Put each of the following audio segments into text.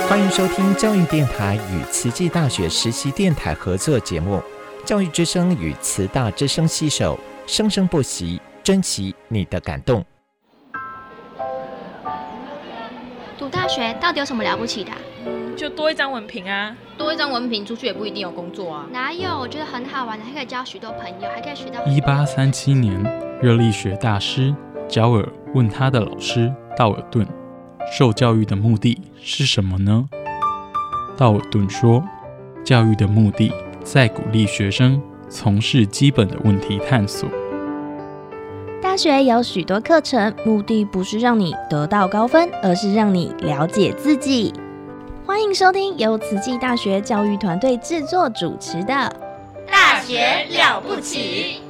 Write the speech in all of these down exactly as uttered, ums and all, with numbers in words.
欢迎收听教育电台与慈济大学实习电台合作节目《教育之声》与慈大之声携手，生生不息，珍惜你的感动。 读大学到底有什么了不起的、啊？ 嗯，就多一张文凭啊。 多一张文凭，出去也不一定有工作啊。 哪有？我觉得很好玩的，还可以交许多朋友，还可以学到。 一八三七年，热力学大师焦耳问他的老师道尔顿，受教育的目的是什么呢？道尔顿说，教育的目的在鼓励学生从事基本的问题探索。 大学有许多课程，目的不是让你得到高分，而是让你了解自己。欢迎收听由慈济大学教育团队制作主持的《 大学了不起》。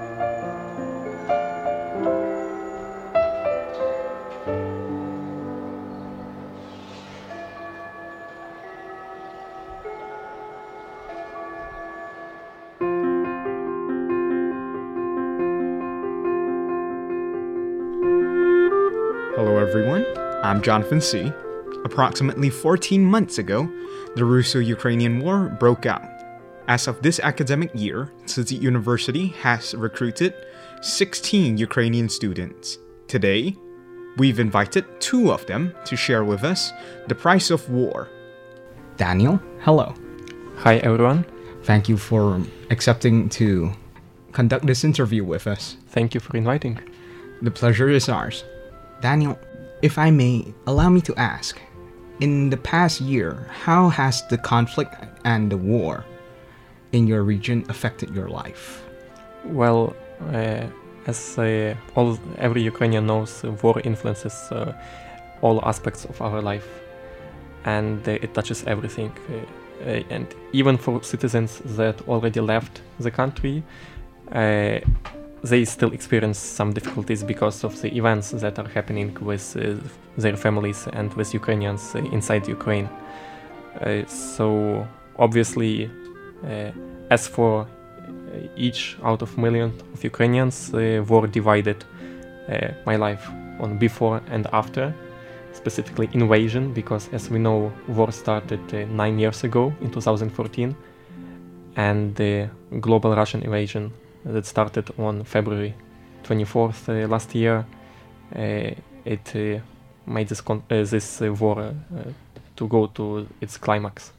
Hello everyone, I'm Jonathan C. Approximately fourteen months ago, the Russo-Ukrainian War broke out. As of this academic year, Tzu Chi University has recruited sixteen Ukrainian students. Today, we've invited two of them to share with us the price of war. Daniel, hello. Hi everyone. Thank you for accepting to conduct this interview with us. Thank you for inviting. The pleasure is ours. Daniel, if I may, allow me to ask, in the past year, how has the conflict and the war in your region affected your life? Well, uh, as uh, all every Ukrainian knows, uh, war influences uh, all aspects of our life, and uh, it touches everything. Uh, uh, and even for citizens that already left the country, uh, they still experience some difficulties because of the events that are happening with uh, their families and with Ukrainians uh, inside Ukraine. Uh, so obviously, uh, as for each out of million of Ukrainians, uh, war divided uh, my life on before and after, specifically invasion, because as we know, war started uh, nine years ago in two thousand fourteen, and the global Russian invasion that started on February twenty-fourth uh, last year. Uh, it uh, made this, con- uh, this uh, war uh, to go to its climax.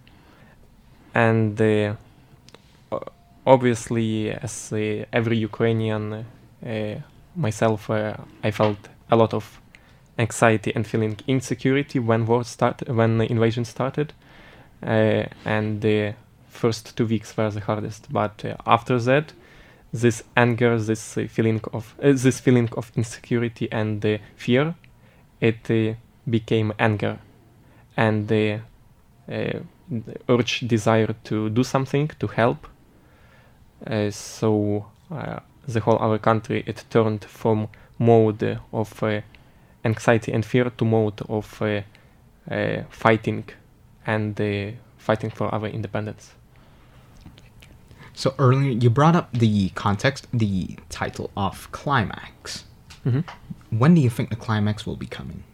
And uh, obviously, as uh, every Ukrainian, uh, myself, uh, I felt a lot of anxiety and feeling insecurity when war started, when the invasion started. Uh, and the first two weeks were the hardest. But uh, after that, this anger, this uh, feeling of uh, this feeling of insecurity and uh, fear, it uh, became anger, and the uh, urge, desire to do something, to help. Uh, so uh, the whole our country, it turned from mode of uh, anxiety and fear to mode of uh, uh, fighting and uh, fighting for our independence. So earlier you brought up the context, the title of climax. Mm-hmm. When do you think the climax will be coming?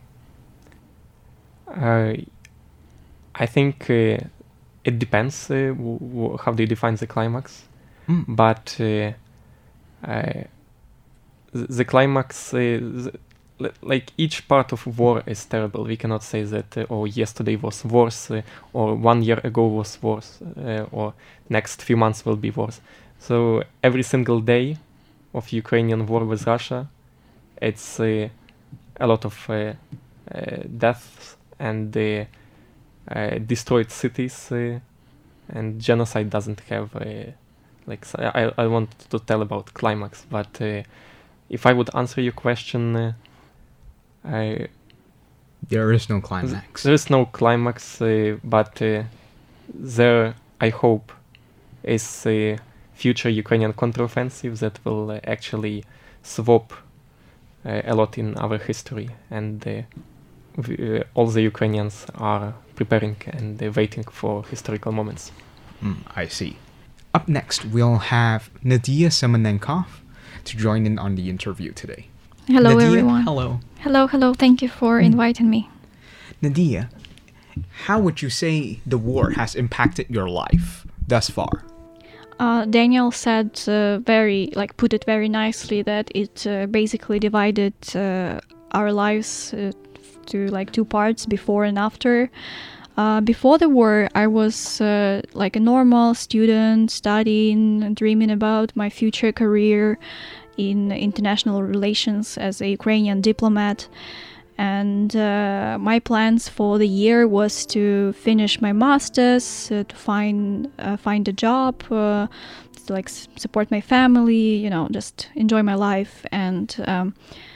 Uh, I think uh, it depends uh, w- w- how they define the climax. Mm. But uh, uh, the, the climax, uh, the, like each part of war is terrible. We cannot say that, uh, oh, yesterday was worse, uh, or one year ago was worse, uh, or next few months will be worse. So every single day of Ukrainian war with Russia, it's uh, a lot of uh, uh, deaths and uh, uh, destroyed cities, uh, and genocide doesn't have, uh, like, I, I want to tell about climax, but uh, if I would answer your question, uh, I, there is no climax. There is no climax, uh, but uh, there, I hope, is a future Ukrainian counteroffensive that will uh, actually swap uh, a lot in our history, and uh, we, uh, all the Ukrainians are preparing and uh, waiting for historical moments. Mm, I see. Up next, we'll have Nadia Semenenkov to join in on the interview today. Hello, Nadia, everyone. Hello. Hello, hello. Thank you for mm. inviting me. Nadia, How would you say the war has impacted your life thus far? Uh, Daniel said uh, very, like, put it very nicely that it uh, basically divided uh, our lives uh, to like two parts, before and after. Uh, before the war, I was uh, like a normal student, studying, dreaming about my future career in international relations as a Ukrainian diplomat. And uh, my plans for the year was to finish my master's, uh, to find uh, find a job, uh, to like s- support my family, you know, just enjoy my life. And um,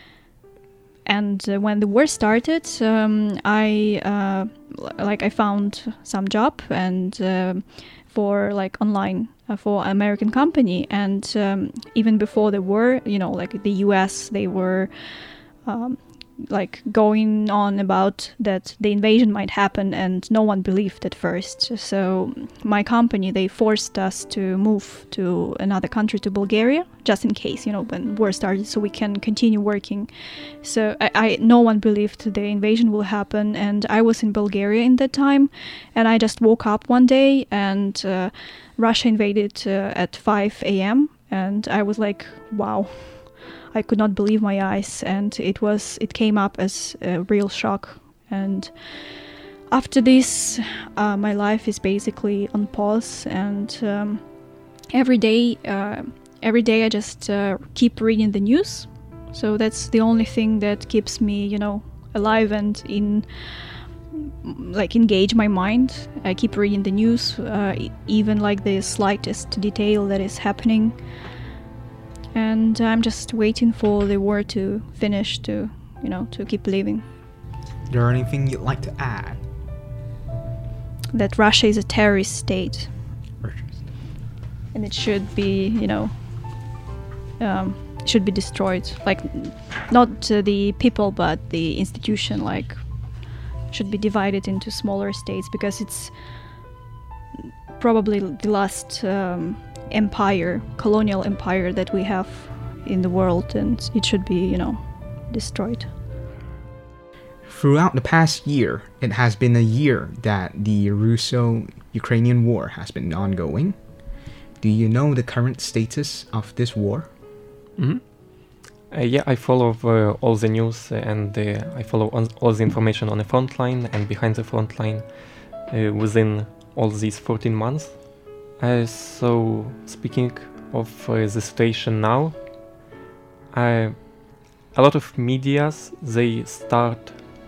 and uh, when the war started, um, I uh, l- like I found some job and uh, for like online uh, for an American company. And um, even before the war, you know, like the U S, they were. Um, like going on about that the invasion might happen, and no one believed at first. So my company, they forced us to move to another country, to Bulgaria, just in case, you know, when war started, so we can continue working. So I, I no one believed the invasion will happen, and I was in Bulgaria in that time, and I just woke up one day and uh, Russia invaded uh, at five a.m. and I was like, wow. I could not believe my eyes, and it was it came up as a real shock. And after this, uh, my life is basically on pause, and um, every day, uh, every day I just uh, keep reading the news. So that's the only thing that keeps me, you know, alive and in like engage my mind. I keep reading the news, uh, even like the slightest detail that is happening. And I'm just waiting for the war to finish, to, you know, to keep living. Is there anything you'd like to add? That Russia is a terrorist state. And it should be, you know, um, should be destroyed. Like, not uh, the people, but the institution, like, should be divided into smaller states, because it's probably the last um, empire, colonial empire that we have in the world, and it should be, you know, destroyed. Throughout the past year, it has been a year that the Russo-Ukrainian war has been ongoing. Do you know the current status of this war? Mm-hmm. Uh, yeah, I follow uh, all the news, uh, and uh, I follow on, all the information on the front line and behind the front line uh, within all these fourteen months. Uh, so, speaking of uh, the situation now, uh, a lot of medias, they start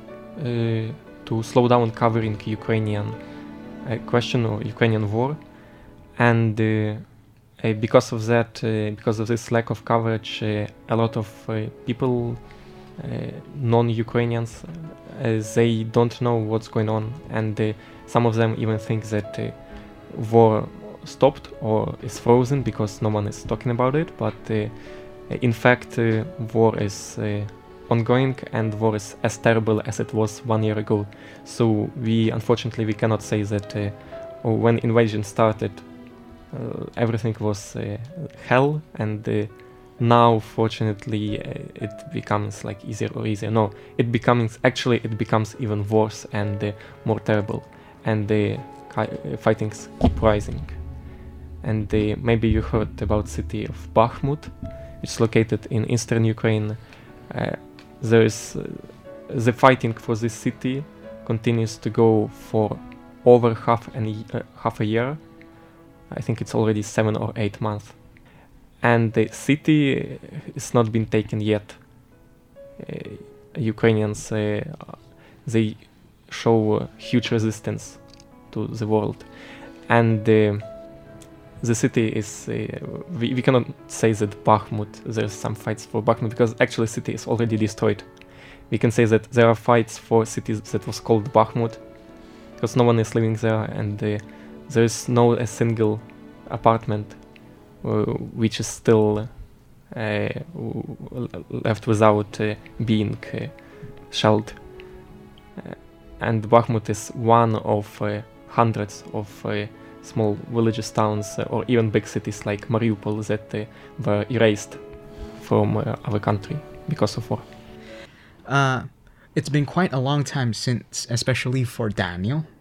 uh, to slow down covering Ukrainian uh, question or Ukrainian war, and uh, uh, because of that, uh, because of this lack of coverage, uh, a lot of uh, people, uh, non-Ukrainians, uh, they don't know what's going on, and uh, some of them even think that uh, war stopped or is frozen because no one is talking about it, but uh, in fact uh, war is uh, ongoing, and war is as terrible as it was one year ago. So we unfortunately we cannot say that uh, when invasion started uh, everything was uh, hell, and uh, now fortunately uh, it becomes like easier or easier. No, it becomes actually it becomes even worse and uh, more terrible, and the uh, fightings keep rising. And uh, maybe you heard about the city of Bakhmut, which is located in eastern Ukraine. Uh, there is uh, the fighting for this city continues to go for over half an uh, half a year. I think it's already seven or eight months, and the city is not been taken yet. Uh, Ukrainians uh, they show uh, huge resistance to the world, and uh, the city is, uh, we, we cannot say that Bakhmut, there's some fights for Bakhmut, because actually the city is already destroyed. We can say that there are fights for cities that was called Bakhmut, because no one is living there, and uh, there is no a single apartment uh, which is still uh, left without uh, being uh, shelled. Uh, and Bakhmut is one of uh, hundreds of uh, small villages, towns, uh, or even big cities like Mariupol that uh, were erased from uh, our country because of war. Uh, it's been quite a long time since, especially for Daniel,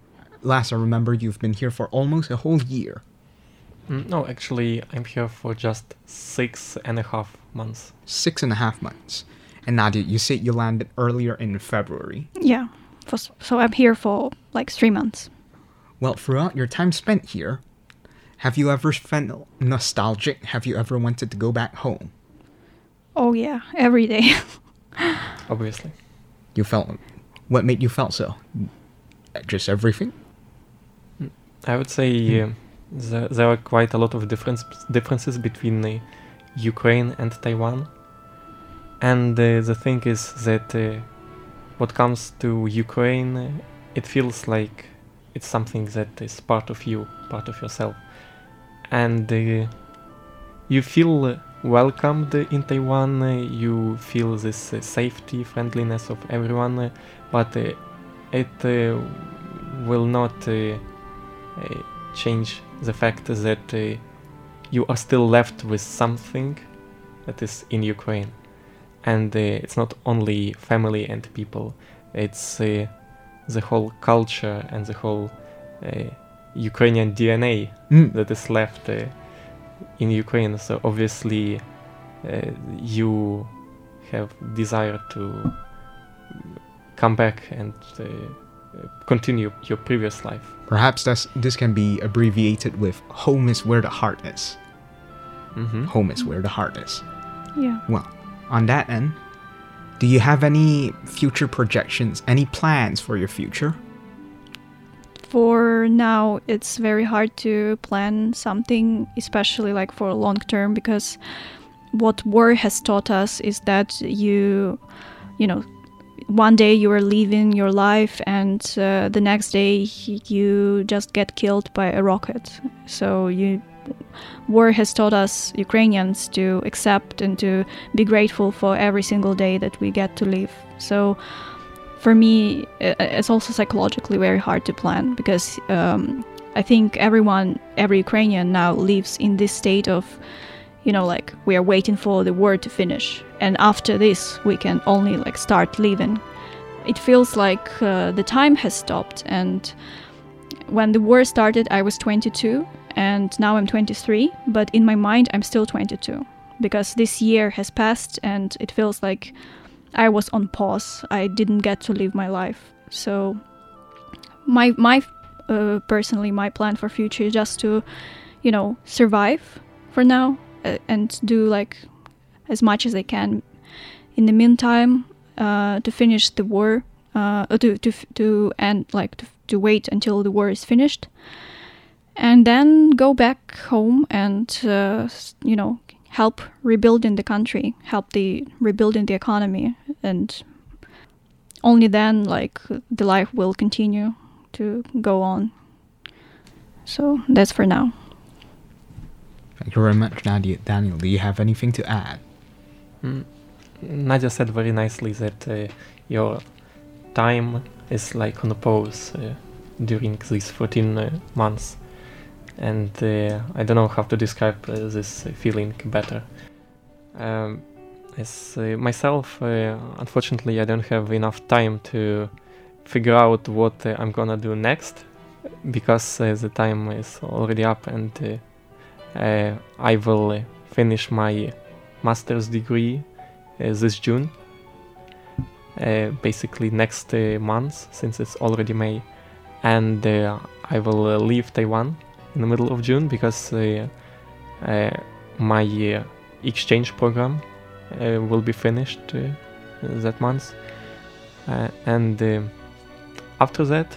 last I remember, you've been here for almost a whole year. Mm, no, actually, I'm here for just six and a half months. Six and a half months. And Nadia, you said you landed earlier in February. Yeah, for, so I'm here for like three months. Well, throughout your time spent here, have you ever felt nostalgic? Have you ever wanted to go back home? Oh yeah, every day. Obviously. You felt... What made you felt so? Just everything? I would say uh, there, there are quite a lot of difference, differences between uh, Ukraine and Taiwan. And uh, the thing is that uh, what comes to Ukraine, uh, it feels like it's something that is part of you, part of yourself. And uh, you feel uh, welcomed in Taiwan, uh, you feel this uh, safety, friendliness of everyone, uh, but uh, it uh, will not uh, uh, change the fact that uh, you are still left with something that is in Ukraine. And uh, it's not only family and people, it's uh, the whole culture and the whole uh, Ukrainian D N A mm. that is left uh, in Ukraine. So obviously uh, you have desire to come back and uh, continue your previous life. Perhaps that's, this can be abbreviated with home is where the heart is. Mm-hmm. Home is where the heart is. Yeah. Well, on that end, do you have any future projections, any plans for your future? For now, it's very hard to plan something, especially like for long term, because what war has taught us is that you, you know, one day you are living your life and uh, the next day you just get killed by a rocket. So you, war has taught us Ukrainians to accept and to be grateful for every single day that we get to live. So for me, it's also psychologically very hard to plan, because um, I think everyone, every Ukrainian now lives in this state of, you know, like we are waiting for the war to finish. And after this, we can only like start living. It feels like uh, the time has stopped. And when the war started, I was twenty-two and now I'm twenty-three. But in my mind, I'm still twenty-two, because this year has passed and it feels like I was on pause. I didn't get to live my life. So my my uh, personally, my plan for future is just to, you know, survive for now uh, and do like as much as I can. In the meantime, uh, to finish the war, uh, to to to end like to, to wait until the war is finished, and then go back home and uh, you know, help rebuilding the country, help the rebuilding the economy, and only then like the life will continue to go on. So that's for now. Thank you very much, Nadia. Daniel, do you have anything to add? Mm. Nadia said very nicely that uh, your time is like on a pause uh, during these fourteen uh, months. And uh, I don't know how to describe uh, this feeling better. Um, as uh, myself, uh, unfortunately, I don't have enough time to figure out what uh, I'm gonna do next, because uh, the time is already up, and uh, uh, I will uh, finish my master's degree uh, this June, uh, basically next uh, month, since it's already May, and uh, I will uh, leave Taiwan in the middle of June, because uh, uh, my uh, exchange program uh, will be finished uh, that month, uh, and uh, after that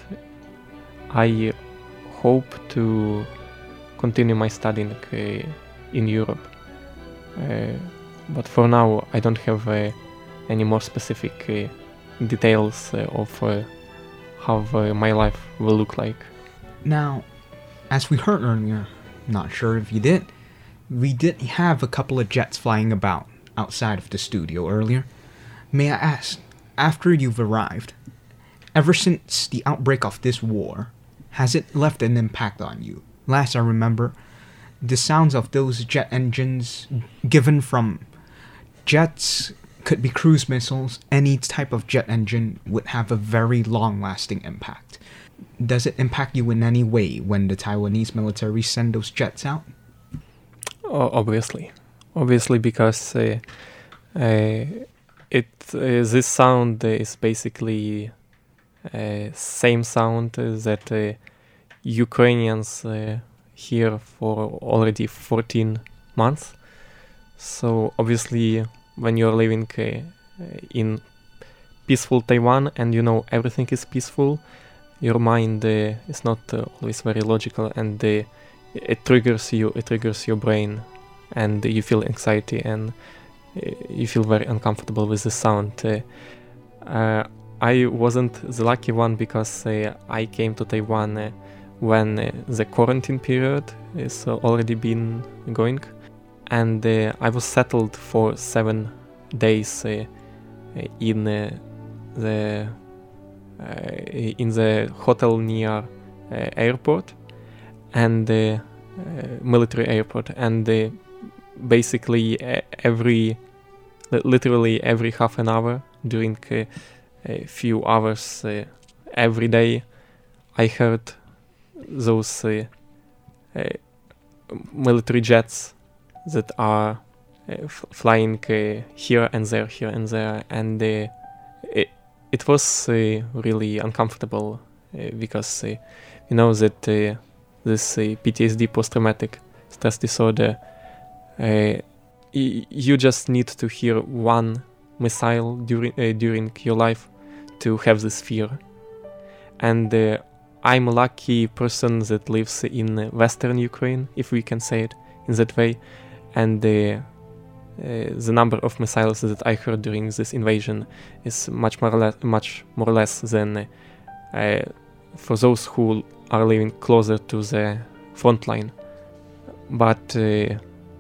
I hope to continue my studying uh, in Europe, uh, but for now I don't have uh, any more specific uh, details uh, of uh, how uh, my life will look like. Now, as we heard earlier, not sure if you did, we did have a couple of jets flying about outside of the studio earlier. May I ask, after you've arrived, ever since the outbreak of this war, has it left an impact on you? Last I remember, the sounds of those jet engines given from jets could be cruise missiles, any type of jet engine would have a very long-lasting impact. Does it impact you in any way when the Taiwanese military send those jets out? Oh, obviously. Obviously, because uh, uh, it uh, this sound is basically uh, same sound that uh, Ukrainians uh, hear for already fourteen months. So obviously, when you're living uh, in peaceful Taiwan and you know everything is peaceful, your mind uh, is not uh, always very logical, and uh, it triggers you, it triggers your brain, and you feel anxiety, and uh, you feel very uncomfortable with the sound. Uh, uh, I wasn't the lucky one because uh, I came to Taiwan uh, when uh, the quarantine period is uh, already been going, and uh, I was settled for seven days uh, in uh, the uh, in the hotel near uh, airport and uh, uh, military airport, and uh, basically uh, every literally every half an hour during uh, a few hours uh, every day I heard those uh, uh, military jets that are uh, f- flying uh, here and there, here and there, and uh, it, it was uh, really uncomfortable uh, because uh, you know that uh, this uh, P T S D, post-traumatic stress disorder, uh, y- you just need to hear one missile during uh, during your life to have this fear. And uh, I'm a lucky person that lives in Western Ukraine, if we can say it in that way, and uh, uh, the number of missiles that I heard during this invasion is much more or less, much more or less than uh, for those who are living closer to the front line. But uh,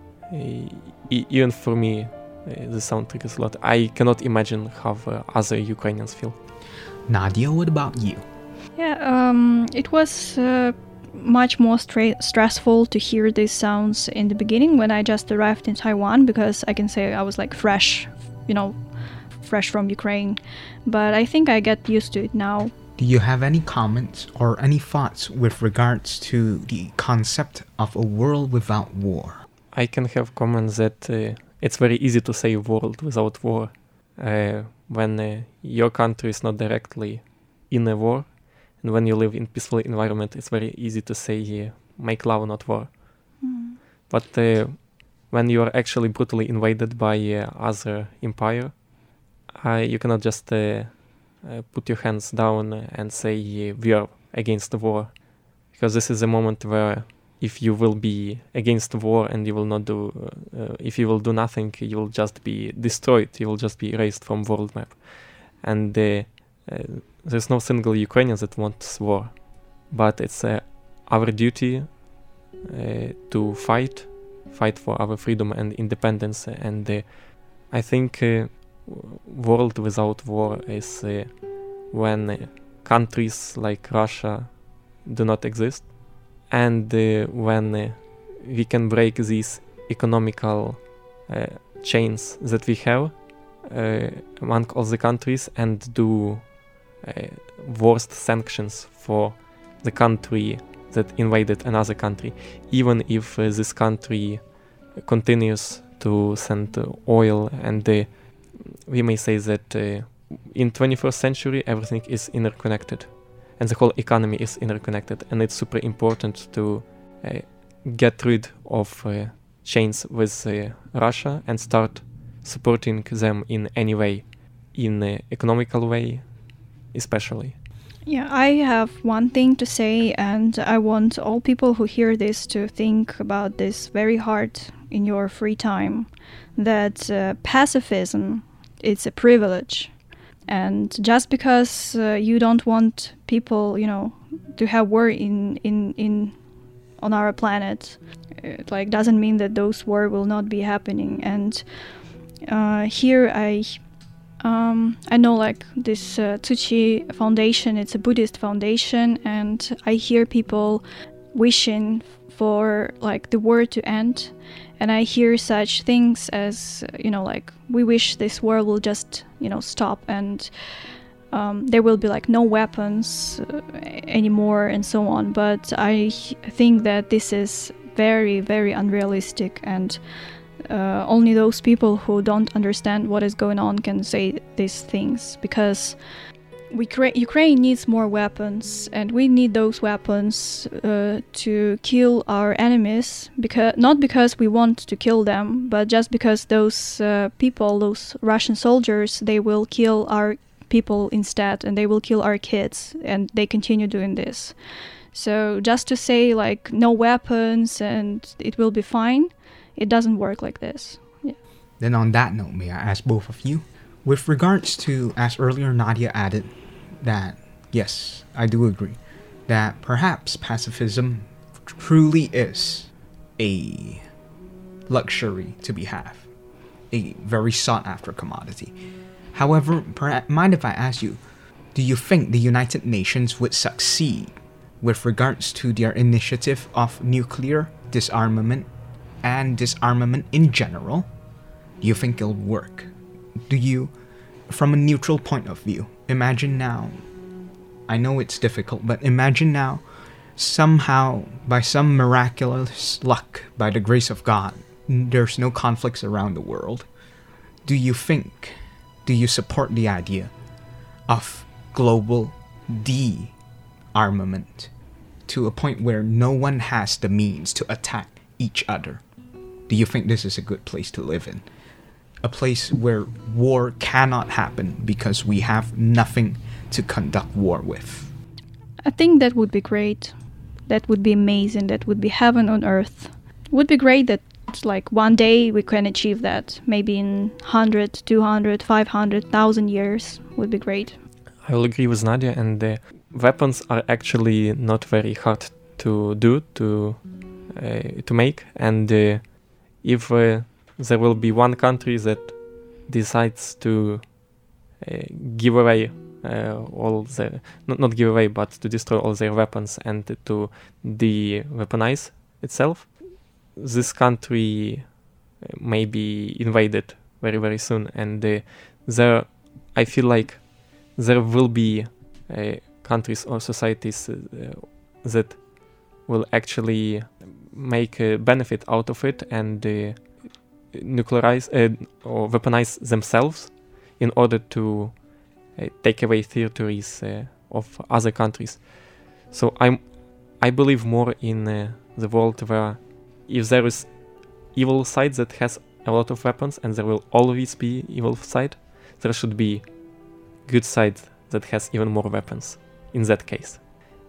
e- even for me, uh, the sound triggers a lot. I cannot imagine how uh, other Ukrainians feel. Nadia, what about you? Yeah, um, it was uh, much more stra- stressful to hear these sounds in the beginning when I just arrived in Taiwan, because I can say I was like fresh, you know, fresh from Ukraine. But I think I get used to it now. Do you have any comments or any thoughts with regards to the concept of a world without war? I can have comments that uh, it's very easy to say world without war uh, when uh, your country is not directly in a war, and when you live in peaceful environment, it's very easy to say uh, make love, not war. Mm. But uh, when you are actually brutally invaded by uh, other empire, uh, you cannot just uh, uh, put your hands down and say uh, we are against the war, because this is a moment where if you will be against the war and you will not do, uh, uh, if you will do nothing, you will just be destroyed. You will just be erased from world map, and uh, uh, there's no single Ukrainian that wants war. But it's uh, our duty uh, to fight, fight for our freedom and independence. And uh, I think uh, world without war is uh, when uh, countries like Russia do not exist, and uh, when uh, we can break these economical uh, chains that we have uh, among all the countries and do uh, worst sanctions for the country that invaded another country, even if uh, this country continues to send uh, oil, and uh, we may say that uh, in twenty-first century everything is interconnected. And the whole economy is interconnected, and it's super important to uh, get rid of uh, chains with uh, Russia and start supporting them in any way, in an economical way especially. Yeah, I have one thing to say, and I want all people who hear this to think about this very hard in your free time, that uh, pacifism is a privilege. And just because uh, you don't want people, you know, to have war in, in, in on our planet, it, like doesn't mean that those war will not be happening. And uh, here I um, I know like this uh, Tzu Chi Foundation, it's a Buddhist foundation, and I hear people wishing for like the war to end. and I hear such things as, you know, like, we wish this war will just, you know, stop, and um, there will be like no weapons uh, anymore and so on. But I think that this is very, very unrealistic, and uh, only those people who don't understand what is going on can say these things, because we cra- Ukraine needs more weapons, and we need those weapons uh, to kill our enemies, because not because we want to kill them, but just because those uh, people, those Russian soldiers, they will kill our people instead, and they will kill our kids, and they continue doing this. So just to say like no weapons and it will be fine, it doesn't work like this. Yeah. Then on that note, may I ask both of you, with regards to, as earlier Nadia added, that yes, I do agree that perhaps pacifism truly is a luxury to be had, a very sought after commodity. However, perhaps, mind if I ask you, do you think the United Nations would succeed with regards to their initiative of nuclear disarmament and disarmament in general? Do you think it'll work? Do you, from a neutral point of view, imagine now, I know it's difficult, but imagine now, somehow, by some miraculous luck, by the grace of God, there's no conflicts around the world. Do you think, do you support the idea of global de-armament to a point where no one has the means to attack each other? Do you think this is a good place to live in? A place where war cannot happen because we have nothing to conduct war with? I think that would be great. That would be amazing. That would be heaven on earth. It would be great that like one day we can achieve that. Maybe in one hundred, two hundred, five hundred, one thousand years would be great. I will agree with Nadia, and the weapons are actually not very hard to do, to uh, to make, and uh, if uh, there will be one country that decides to uh, give away uh, all their, not, not give away, but to destroy all their weapons and to de-weaponize itself, this country may be invaded very, very soon. And uh, there, I feel like there will be uh, countries or societies uh, that will actually make a benefit out of it and uh, nuclearize uh, or weaponize themselves in order to uh, take away territories uh, of other countries. So I'm, I believe more in uh, the world where if there is evil side that has a lot of weapons, and there will always be evil side, there should be good side that has even more weapons. In that case,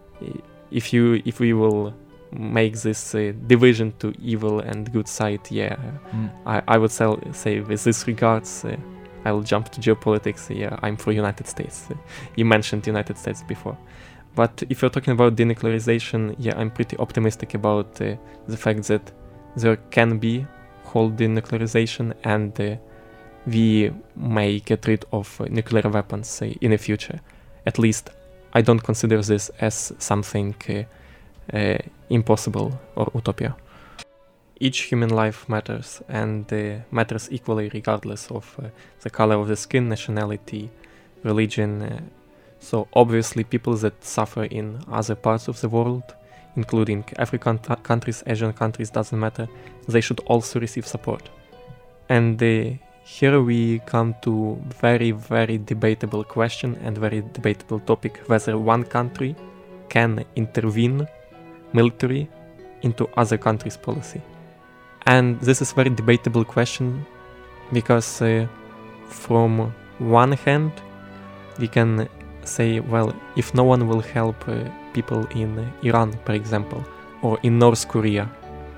if you if we will make this uh, division to evil and good side, yeah, mm. I, I would say, say with this regards, uh, I will jump to geopolitics. Yeah, I'm for United States. Uh, you mentioned United States before, but if you're talking about denuclearization, yeah, I'm pretty optimistic about uh, the fact that there can be whole denuclearization, and uh, we may get rid of uh, nuclear weapons uh, in the future. At least I don't consider this as something uh, uh, impossible or utopia. Each human life matters, and uh, matters equally regardless of uh, the color of the skin, nationality, religion. Uh, so obviously people that suffer in other parts of the world, including African t- countries, Asian countries, doesn't matter, they should also receive support. And uh, here we come to very, very debatable question and very debatable topic, whether one country can intervene military into other countries' policy. And this is very debatable question because uh, from one hand we can say, well, if no one will help uh, people in Iran, for example, or in North Korea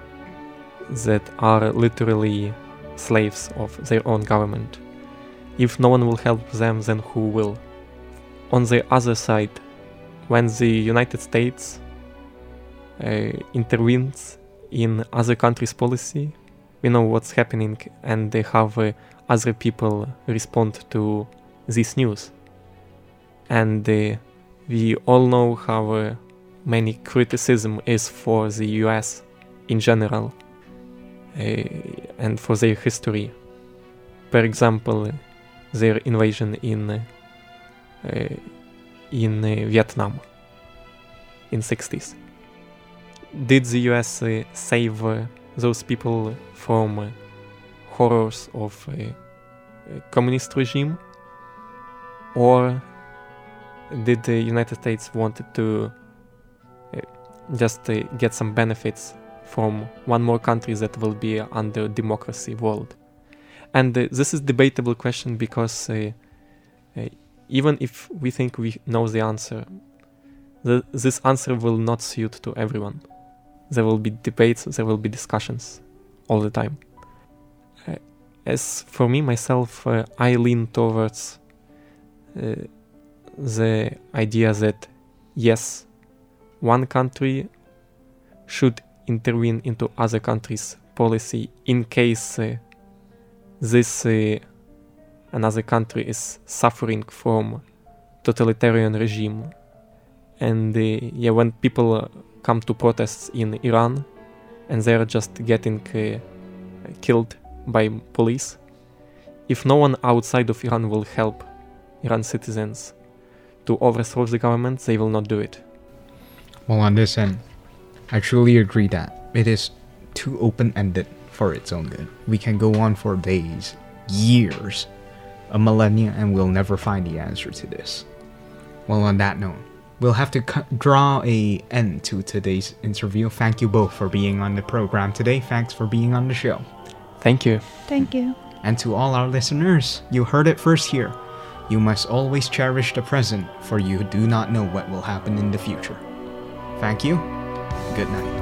that are literally slaves of their own government, if no one will help them, then who will? On the other side, when the United States uh, intervenes in other countries' policy, we know what's happening, and they have uh, other people respond to this news. And uh, we all know how uh, many criticism is for the U S in general. uh, and for their history. For example, their invasion in uh, in uh, Vietnam in sixties. Did the U S uh, save uh, those people from uh, horrors of uh, a communist regime, or did the United States wanted to uh, just uh, get some benefits from one more country that will be under democracy world? And uh, this is debatable question because uh, uh, even if we think we know the answer, the, this answer will not suit to everyone. There will be debates, there will be discussions all the time. Uh, as for me, myself, uh, I lean towards uh, the idea that yes, one country should intervene into other countries' policy in case uh, this uh, another country is suffering from totalitarian regime. And uh, yeah, when people uh, come to protests in Iran and they're just getting uh, killed by police, if no one outside of Iran will help Iran citizens to overthrow the government, they will not do it. Well, on this end, I truly agree that it is too open-ended for its own good. We can go on for days, years, a millennia, and we'll never find the answer to this. Well, on that note, we'll have to cu- draw a end to today's interview. Thank you both for being on the program today. Thanks for being on the show. Thank you. Thank you. And to all our listeners, you heard it first here. You must always cherish the present, for you do not know what will happen in the future. Thank you. Good night.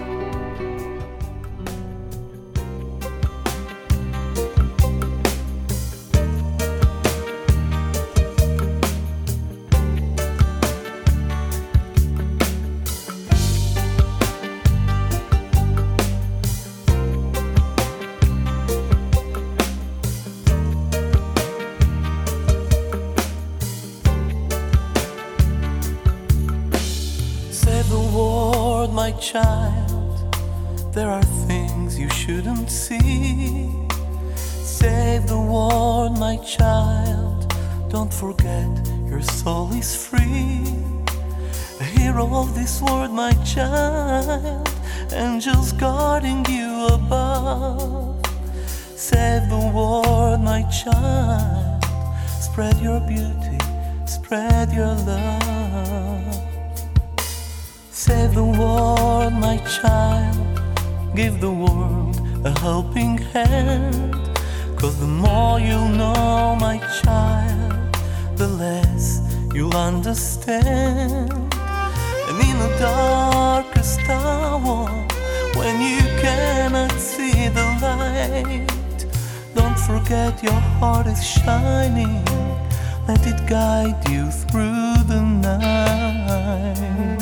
My child, there are things you shouldn't see. Save the world, my child. Don't forget your soul is free. A hero of this world, my child. Angels guarding you above. Save the world, my child. Spread your beauty, spread your love. Save the world, my child. Give the world a helping hand. Cause the more you'll know, my child, the less you'll understand. And in the darkest hour, when you cannot see the light, don't forget your heart is shining. Let it guide you through the night.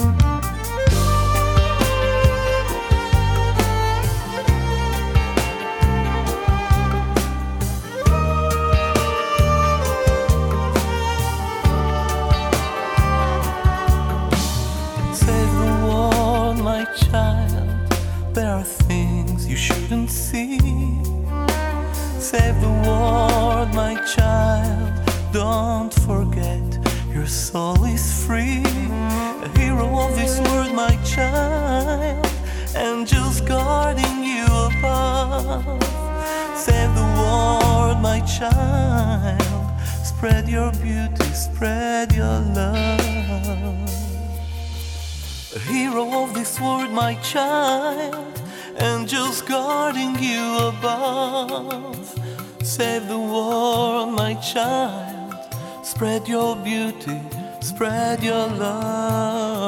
There are things you shouldn't see. Save the world, my child. Don't forget your soul is free. A hero of this world, my child. Angels guarding you above. Save the world, my child. Spread your beauty, spread your love. A hero of this world, my child. Angels guarding you above. Save the world, my child. Spread your beauty, spread your love.